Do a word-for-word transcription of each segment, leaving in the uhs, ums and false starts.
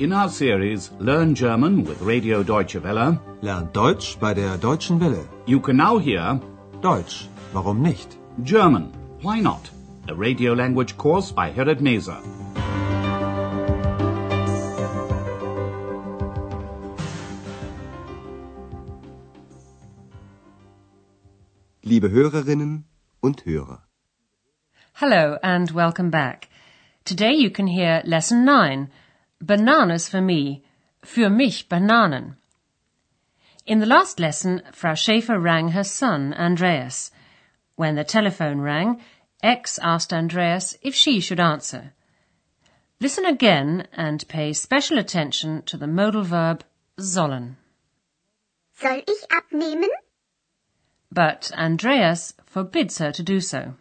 In our series Learn German with Radio Deutsche Welle, Lernt Deutsch bei der Deutschen Welle. you can now hear Deutsch, warum nicht? German, Why Not? A radio language course by Herrad Meese. Liebe Hörerinnen und Hörer. Hello and welcome back. Today you can hear Lesson nine, Bananas for me, für mich Bananen. In the last lesson, Frau Schäfer rang her son, Andreas. When the telephone rang, X asked Andreas if she should answer. Listen again and pay special attention to the modal verb sollen. Soll ich abnehmen? But Andreas forbids her to do so.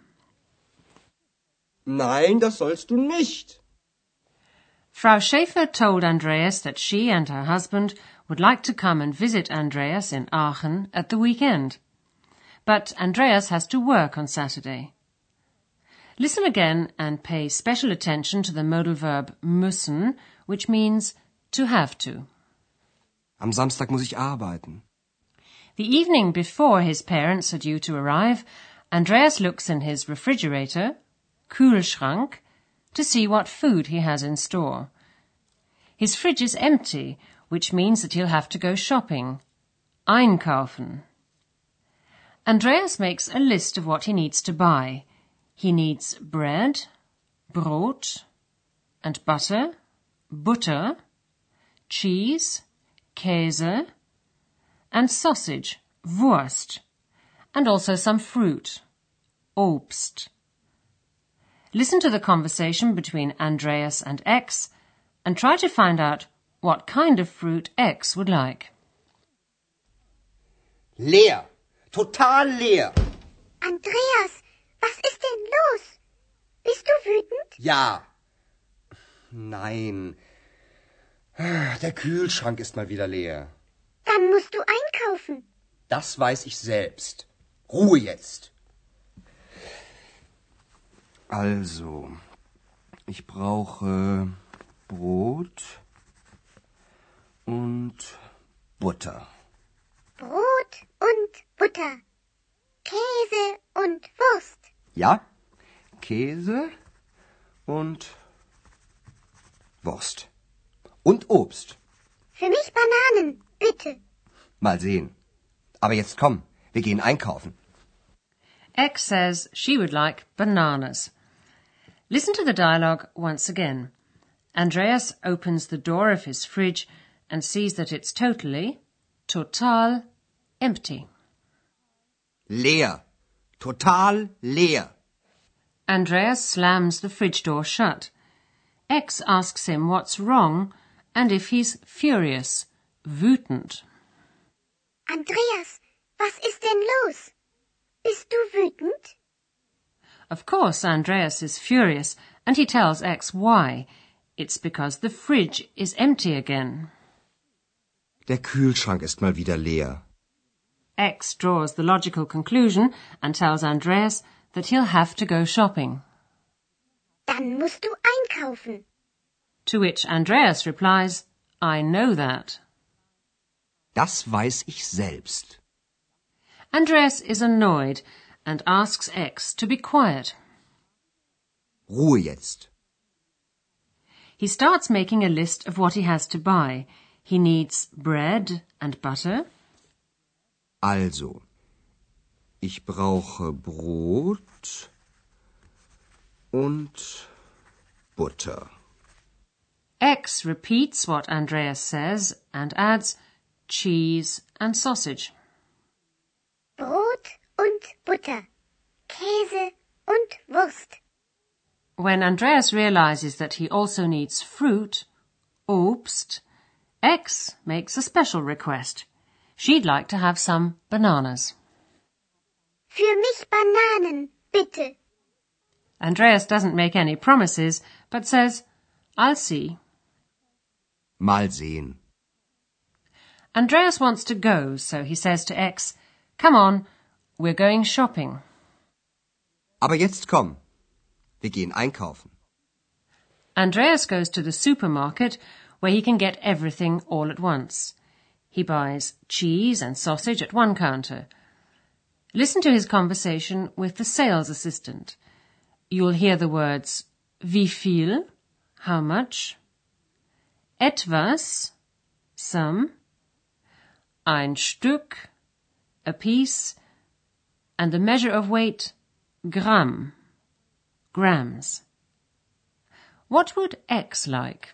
Nein, das sollst du nicht. Frau Schäfer told Andreas that she and her husband would like to come and visit Andreas in Aachen at the weekend. But Andreas has to work on Saturday. Listen again and pay special attention to the modal verb müssen, which means to have to. Am Samstag muss ich arbeiten. The evening before his parents are due to arrive, Andreas looks in his refrigerator, Kühlschrank, to see what food he has in store. His fridge is empty, which means that he'll have to go shopping. Einkaufen. Andreas makes a list of what he needs to buy. He needs bread, Brot, and butter, Butter, cheese, Käse, and sausage, Wurst, and also some fruit, Obst. Listen to the conversation between Andreas and X and try to find out what kind of fruit X would like. Leer. Total leer. Andreas, was ist denn los? Bist du wütend? Ja. Nein. Der Kühlschrank ist mal wieder leer. Dann musst du einkaufen. Das weiß ich selbst. Ruhe jetzt. Also, ich brauche Brot und Butter. Brot und Butter. Käse und Wurst. Ja, Käse und Wurst. Und Obst. Für mich Bananen, bitte. Mal sehen. Aber jetzt komm, wir gehen einkaufen. X says she would like bananas. Listen to the dialogue once again. Andreas opens the door of his fridge and sees that it's totally, total, empty. Leer. Total leer. Andreas slams the fridge door shut. X asks him what's wrong and if he's furious, wütend. Andreas, was ist denn los? Bist du wütend? Of course, Andreas is furious, and he tells X why. It's because the fridge is empty again. Der Kühlschrank ist mal wieder leer. X draws the logical conclusion and tells Andreas that he'll have to go shopping. Dann musst du einkaufen. To which Andreas replies, I know that. Das weiß ich selbst. Andreas is annoyed and asks X to be quiet. Ruhe jetzt. He starts making a list of what he has to buy. He needs bread and butter. Also, ich brauche Brot und Butter. X repeats what Andreas says and adds cheese and sausage. Brot und Butter. Käse und Wurst. When Andreas realizes that he also needs fruit, Obst, X makes a special request. She'd like to have some bananas. Für mich Bananen, bitte. Andreas doesn't make any promises, but says, I'll see. Mal sehen. Andreas wants to go, so he says to X, Come on, we're going shopping. Aber jetzt komm. Wir gehen einkaufen. Andreas goes to the supermarket where he can get everything all at once. He buys cheese and sausage at one counter. Listen to his conversation with the sales assistant. You'll hear the words wie viel, how much, etwas, some, ein Stück, a piece, and the measure of weight, Gramm, grams. What would X like?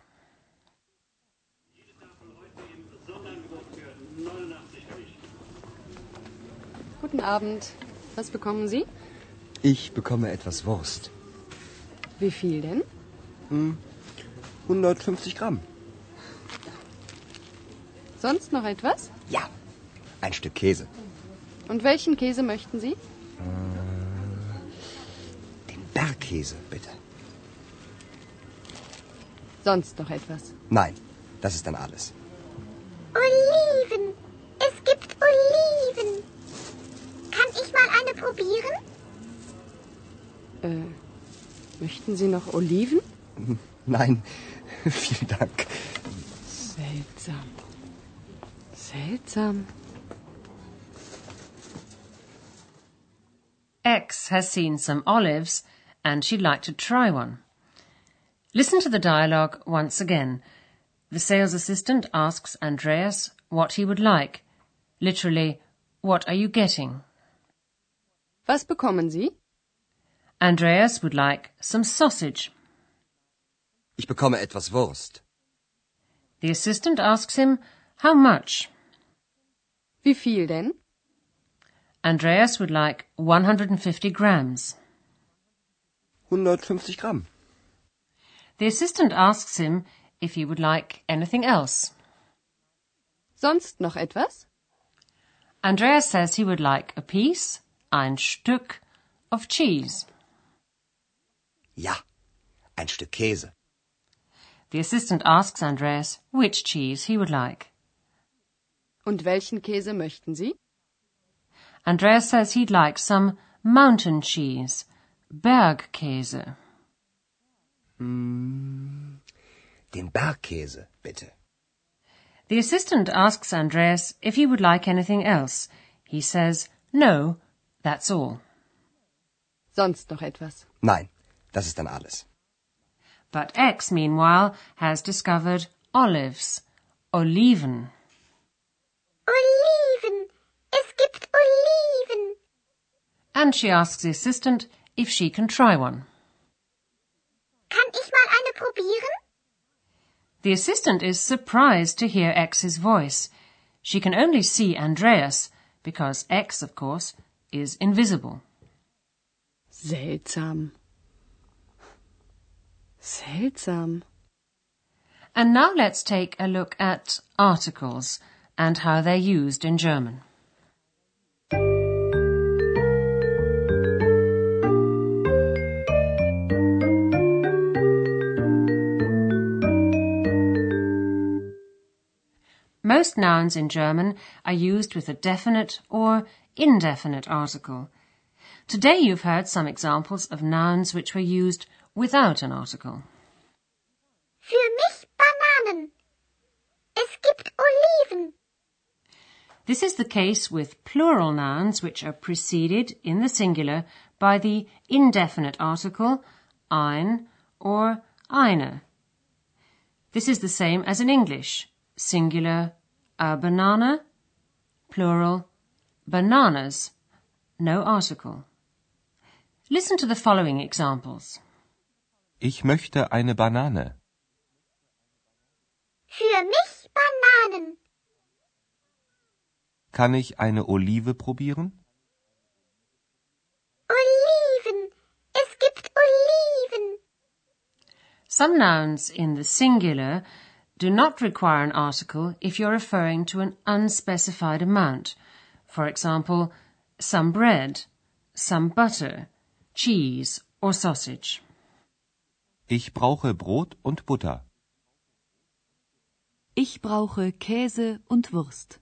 Guten Abend. Was bekommen Sie? Ich bekomme etwas Wurst. Wie viel denn? Hm, hundertfünfzig Gramm. Sonst noch etwas? Ja, ein Stück Käse. Und welchen Käse möchten Sie? Den Bergkäse, bitte. Sonst noch etwas? Nein, das ist dann alles. Oliven. Es gibt Oliven. Kann ich mal eine probieren? Äh, möchten Sie noch Oliven? Nein, vielen Dank. Seltsam. Seltsam. X has seen some olives and she'd like to try one. Listen to the dialogue once again. The sales assistant asks Andreas what he would like. Literally, what are you getting? Was bekommen Sie? Andreas would like some sausage. Ich bekomme etwas Wurst. The assistant asks him how much. Wie viel denn? Andreas would like one hundred fifty grams. hundertfünfzig Gramm. The assistant asks him if he would like anything else. Sonst noch etwas? Andreas says he would like a piece, ein Stück, of cheese. Ja, ein Stück Käse. The assistant asks Andreas which cheese he would like. Und welchen Käse möchten Sie? Andreas says he'd like some mountain cheese, Bergkäse. Mm, den Bergkäse, bitte. The assistant asks Andreas if he would like anything else. He says, no, that's all. Sonst noch etwas? Nein, das ist dann alles. But X, meanwhile, has discovered olives, Oliven. Oliven. Es gibt Oliven. And she asks the assistant if she can try one. Kann ich mal eine probieren? The assistant is surprised to hear X's voice. She can only see Andreas, because X, of course, is invisible. Seltsam. Seltsam. And now let's take a look at articles and how they're used in German. Most nouns in German are used with a definite or indefinite article. Today you've heard some examples of nouns which were used without an article. Für mich Bananen. Es gibt Oliven. This is the case with plural nouns which are preceded in the singular by the indefinite article ein or eine. This is the same as in English, singular a banana, plural bananas, no article. Listen to the following examples. Ich möchte eine Banane. Für mich Bananen. Kann ich eine Olive probieren? Oliven. Es gibt Oliven. Some nouns in the singular do not require an article if you're referring to an unspecified amount. For example, some bread, some butter, cheese or sausage. Ich brauche Brot und Butter. Ich brauche Käse und Wurst.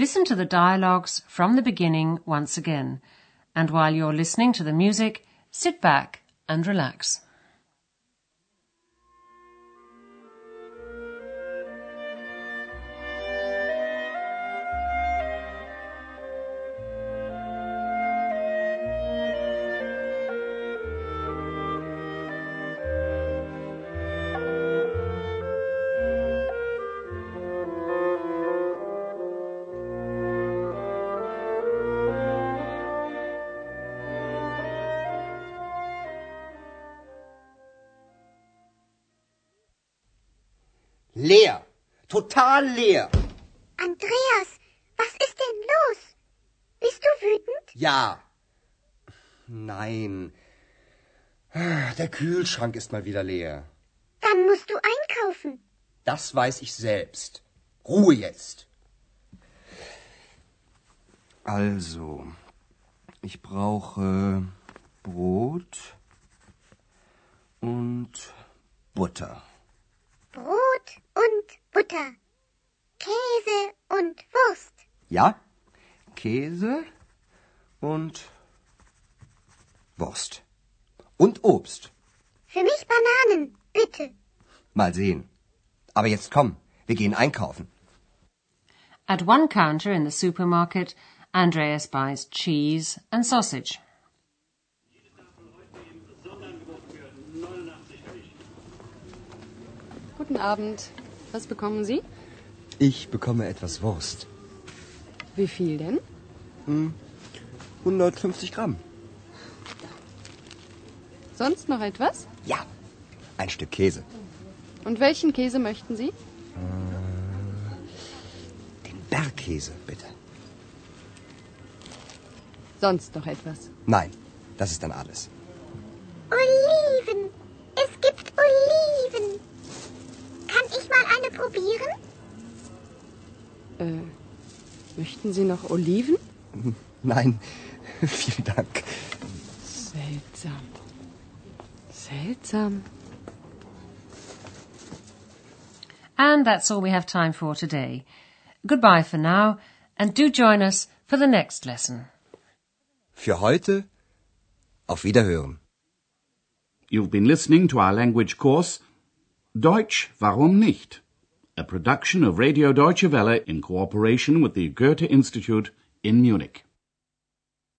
listen to the dialogues from the beginning once again. And while you're listening to the music, sit back and relax. Leer. Total leer. Andreas, was ist denn los? Bist du wütend? Ja. Nein. Der Kühlschrank ist mal wieder leer. Dann musst du einkaufen. Das weiß ich selbst. Ruhe jetzt. Also, ich brauche Brot und Butter. Brot und Butter. Käse und Wurst. Ja, Käse und Wurst. Und Obst. Für mich Bananen, bitte. Mal sehen. Aber jetzt komm, wir gehen einkaufen. At one counter in the supermarket, Andreas buys cheese and sausage. Guten Abend. Was bekommen Sie? Ich bekomme etwas Wurst. Wie viel denn? hundertfünfzig Gramm. Sonst noch etwas? Ja, ein Stück Käse. Und welchen Käse möchten Sie? Den Bergkäse, bitte. Sonst noch etwas? Nein, das ist dann alles. Oliven. Es gibt Oliven. Kann ich mal eine probieren? Äh, möchten Sie noch Oliven? Nein, vielen Dank. Seltsam. Seltsam. And that's all we have time for today. Goodbye for now, and do join us for the next lesson. Für heute auf Wiederhören. You've been listening to our language course, Deutsch, warum nicht? A production of Radio Deutsche Welle in cooperation with the Goethe Institute in Munich.